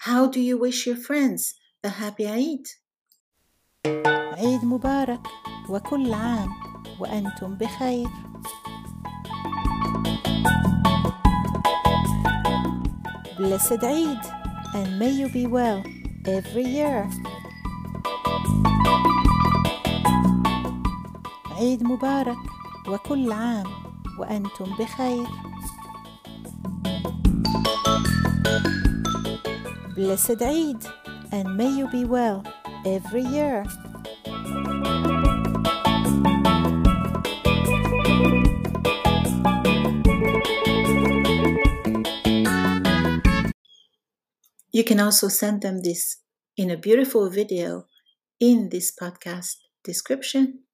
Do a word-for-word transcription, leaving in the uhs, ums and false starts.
How do you wish your friends a happy Eid? عيد مبارك وكل عام وأنتم بخير. Blessed Eid, and may you be well every year. عيد مبارك وكل عام وأنتم بخير. Blessed Eid, and may you be well every year. You can also send them this in a beautiful video in this podcast description.